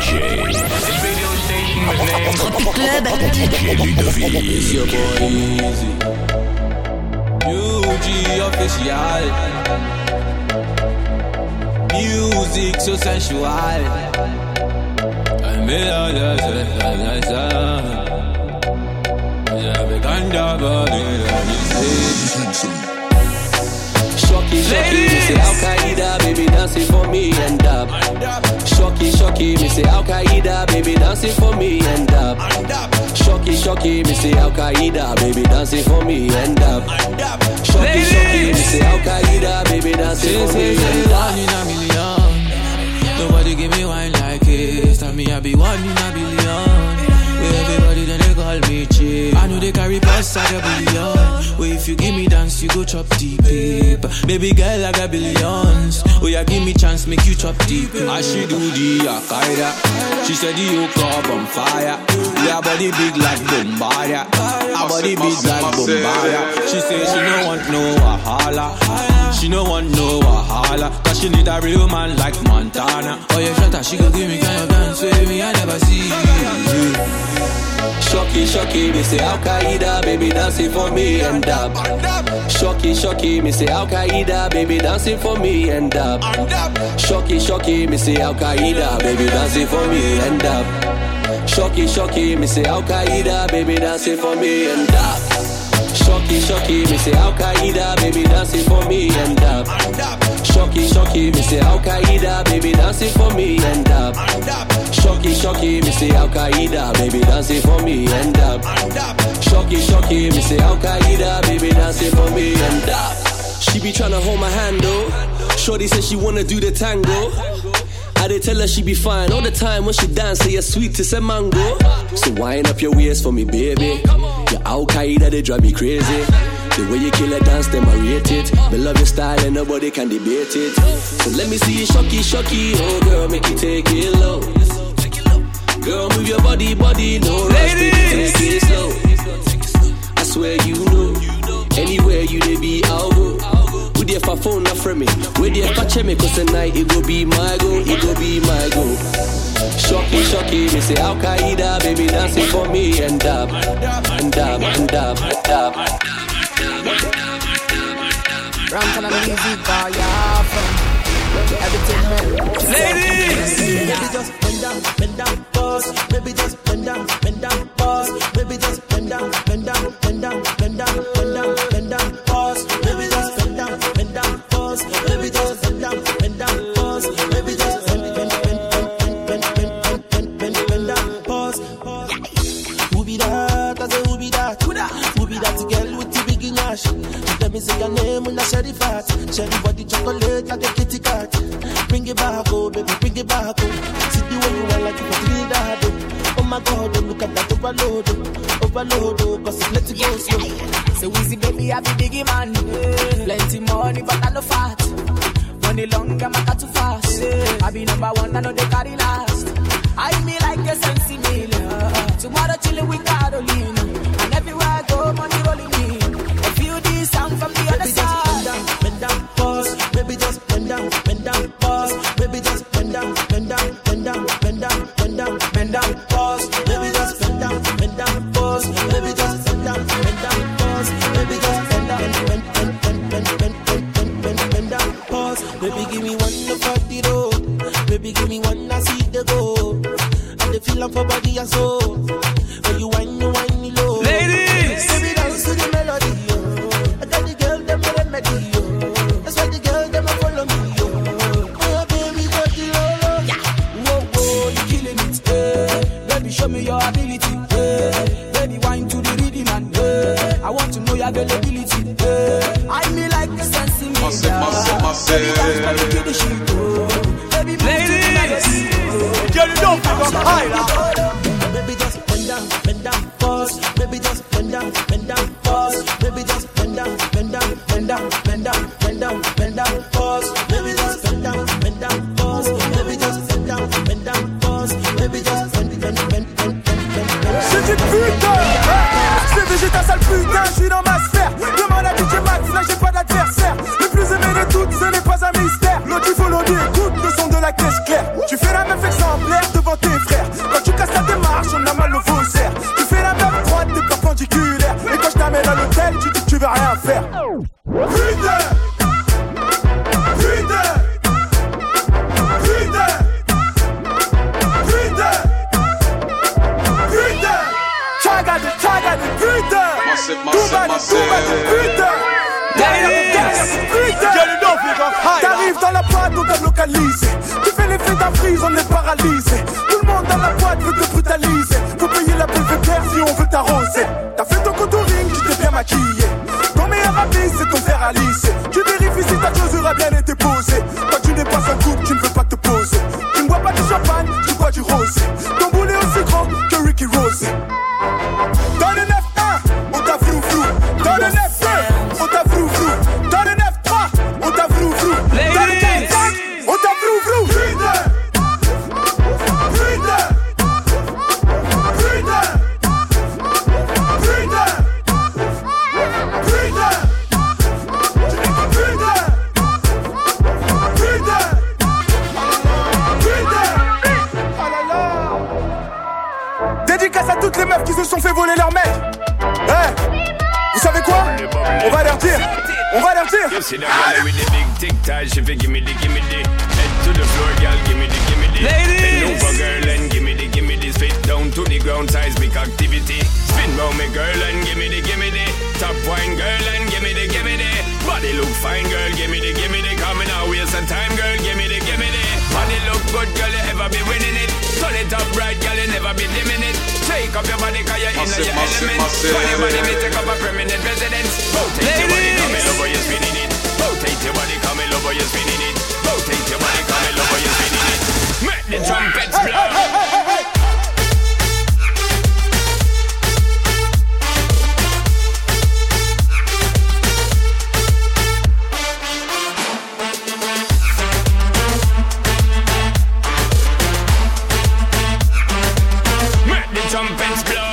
Tropic Club. DJ Ludovic. It's your boy Easy. UG official. Music so sensual. I made all the Shocky, me say Al Qaeda, baby dancing for me and up. Shocky, me say Al Qaeda, baby dancing for me and up. Shocky, me say Al Qaeda, baby dancing for me and up. Shocky, me say Al Qaeda, baby dancing for me and up. One in a million, nobody give me wine like this. Tell me I be one in a billion. Where everybody then they call me cheap. I know they carry past like a billion. Where if you give me dance, you go chop deep. Baby girl, I got billions. Oh yeah, give me chance, make you chop deep. I she do the Al-Qaeda. She said the yoke up on fire. Yeah, body big like Bombardier. Her body big like Bombardier. She say she no want no wahala. She no want no wahala. Cause she need a real man like Montana. Oh yeah, shut up, she go give me kind of dance with me, I never see. Shocky, me say Al Qaeda, baby dancing for me and up. Shocky, me say Al Qaeda, baby dancing for me and up. Shocky, me say Al Qaeda, baby dancing for me and up. Shocky, me say Al Qaeda, baby dancing for me and up. Shocky, me say Al Qaeda, baby dancing for me and up. Shocky, me say Al Qaeda, baby dancing for me and up. Shocky, me say Al Qaeda, baby dancing for me and up. Shocky, me say Al Qaeda, baby dancing for me and up. She be tryna hold my hand though. Shorty said she wanna do the tango. I did tell her she be fine all the time when she dance, say you're sweet as a mango. So wind up your waist for me, baby. Your Al Qaeda, they drive me crazy. The way you kill a dance, them I rate it. Me love your style and nobody can debate it. So let me see you shocky, oh girl, make you take it low. Girl, move your body, no rush, baby, take it slow. I swear you know, anywhere you dey be, I'll go. Who there for phone not from me? Where there for check me? Cause tonight it go be my go, it go be my go. Shocky, me say Al Qaeda, baby dancing for me and up. Ram for the music, bar, yeah, from everything, man. Ladies! Baby, just bend down, pause. Baby, just bend down, pause. Baby, just bend down, pause. Baby, just bend down, pause. Baby, just bend down, pause. Baby, just bend down, pause. Who be that? I say who be that? Who be that girl with the big nash? Let me say your name when I share the fat. Share the body chocolate like a kitty cat. Bring it back, oh baby, bring it back, oh. See the way you are like you for Trinidad, oh. Oh my God, oh, look at that overload, oh, cause it's let it go slow. So easy, baby, I be biggie man. Plenty money, but I no fat. Money long, I'm not too fast. I be number one, I know they carry last. I me like a sensi meal. Tomorrow chillin' with Carolina. And everywhere I go, money rolling in. I feel this sound from the other side. Bend down, pause. Baby, just bend down, pause. Baby, just bend down, pause. Baby, just bend down, pause. Baby, just bend down, pause. Baby, just bend down, pause. Baby, give me one for the road. Baby, give me one, I see the go. And the feel for body and soul. When you whine low. Ladies! Baby, dance to the melody, yo. I got the girl, them a remedy, yo. That's why the girl, them a follow me, yo. Oh, baby, got the low. Yeah. Whoa, you killing it, eh. Baby, show me your ability, eh. Baby, wine to the rhythm and I want to know your availability, eh. I me like the sense in me, baby, dance, baby, to the sheet, oh. Baby, move ladies! To the Girl, you don't pick up higher. Baby, just bend down, pause. Baby, just bend down, pause. Baby, just bend down, pause. Baby, just bend down, pause. Baby, just bend down, pause. Baby, just C'est du putain, c'est végétal sale putain, je suis dans ma sphère. Demande à DJ Max, là j'ai pas d'adversaire. Le plus aimé de toutes, ce n'est pas un mystère. L'autre il faut l'audio, écoute le son de la caisse claire. Tu fais la meuf exemplaire devant tes T'arrives dans la boîte, on t'a localisé. Tu fais l'effet d'un freeze, on est paralysé. Tout le monde dans la boîte veut te brutaliser. Faut payer la PVPR si on veut t'arroser. T'as fait ton contouring, tu t'es bien maquillé. Ton meilleur ami, c'est ton fer à lisser. Tu vérifies si ta closure a bien été posée. Quand tu n'es pas en couple, tu ne veux pas te poser. Tu ne bois pas du champagne, tu bois du rosé. Ton boulet est aussi grand que Ricky Rose. Dans le 9-1, on t'a flou-flou. Dans le 9-2, on t'a flou-flou. Dans le 9-3, on t'a flou-flou. Dans le 4-5, on t'a flou-flou. Dédicace à toutes les meufs qui se sont fait voler leur mec. Vous savez quoi? On va leur dire. On va leur dire. You see the girl with the big tic tac, she fi gimme the head to the floor, girl, gimme the ladies. Bend over, girl, and gimme the spit down to the ground, seismic activity. Spin round me, girl, and gimme the top wine, girl, and gimme the body look fine, girl, gimme the coming out waste some time, girl, gimme the body look good, girl, you ever be winning it. Turn it up right, girl, you never be dimming it. Take up your body, cause you're in your element. Funny body, me take up a permanent residence. Rotate your body, come in over, you're spinning it. Rotate your body, come in over, you're spinning it. Rotate your body, come in over, you're spinning it. Make the trumpets blow. Trumpets blow.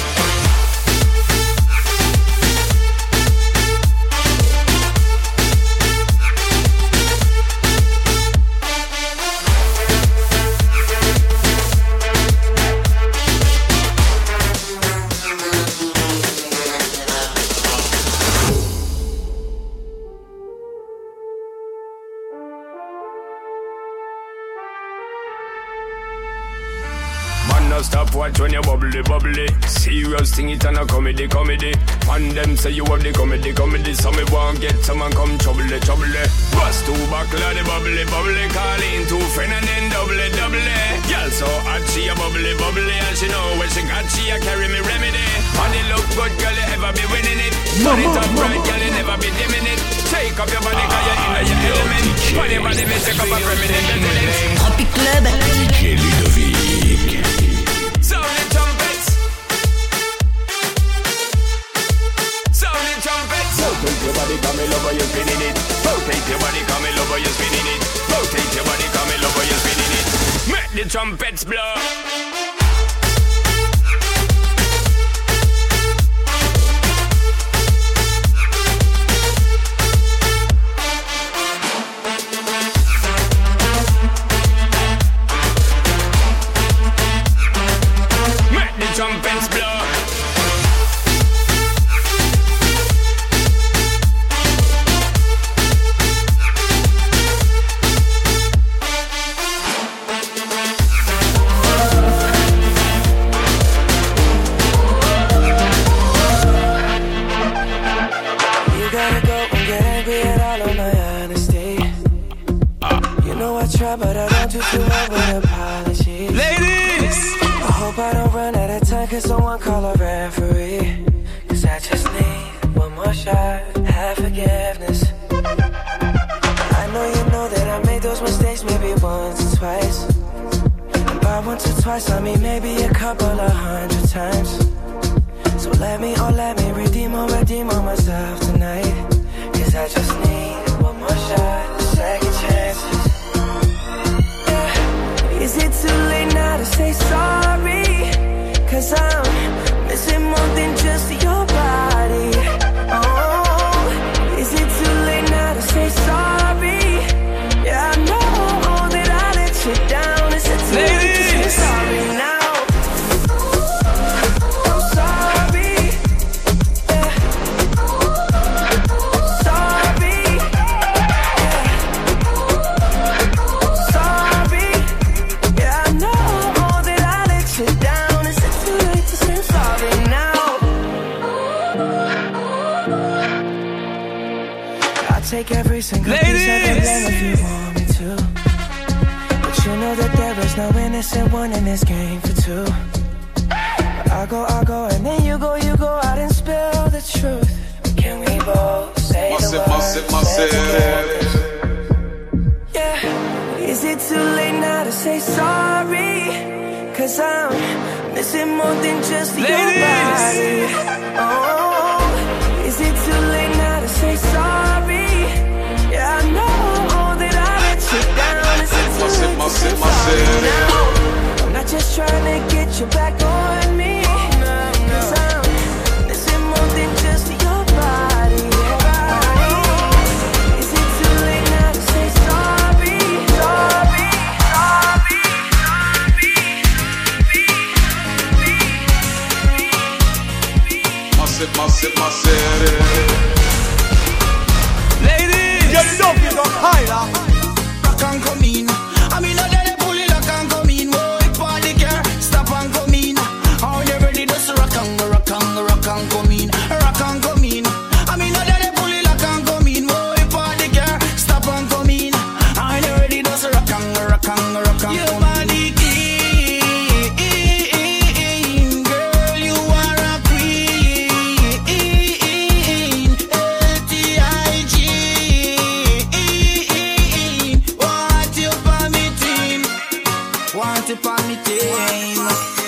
Stop watch when you bubbly. Serious thing, it and a comedy. And them say you have the comedy. So me won't get someone come trouble. Bust two buckle of the bubbly. Call in two friend and then double. Girl so hot she a bubbly. And she know when she got she a carry me remedy. And it look good, girl, you ever be winning it. Turn it up right, girl, you never be dimming it. Take up your body, cause you're in your element. Funny body, me take up a permanent residence. Tropic Club. DJ Ludovic. Sound the trumpets. Rotate your body, come in over, you're spinning it. Rotate your body, come in over, you're spinning it. Rotate your body, come in over, you're spinning it. Make the trumpets blow. Trumpets blow. You gotta go and get angry at all of my honesty. You know I try, but I don't do too well with apologies. Ladies, I hope I don't run out of time, cause someone call a referee. Cause I just need one more shot, have forgiveness. I know you know that I made those mistakes maybe once or twice. And by once or twice I mean maybe a couple of 100 times. So let me redeem on myself tonight. Cause I just need one more shot, second chances. Yeah. Is it too late now to say sorry? Cause I'm missing more than just your body. Oh, is it too late now to say sorry? Yeah, I know that I let you down. Is it too late to say sorry now? Take every single piece of the blame you want me to. But you know that there is no innocent one in this game for two. I go, and then you go out and spill the truth. Can we both say the words? Yeah. Is it too late now to say sorry? 'Cause I'm missing more than just your body. Oh, is it too late now to say sorry? Yeah, I know that I let you down. Is it too late to say sorry now? I'm not just trying to get you back on me. My city. Ladies, you know you don't hide. Rock and come in. I mean, I let it pull it, rock and come in. Whoa, if I the car, stop and come in. How they ready to rock and come in. Rock and come in. I mean, I let it pull it, rock and come in. Whoa, if I the car, stop and come in. How they ready to rock and come in. Your body clean, girl, you are a queen. LTIG, want you for me team.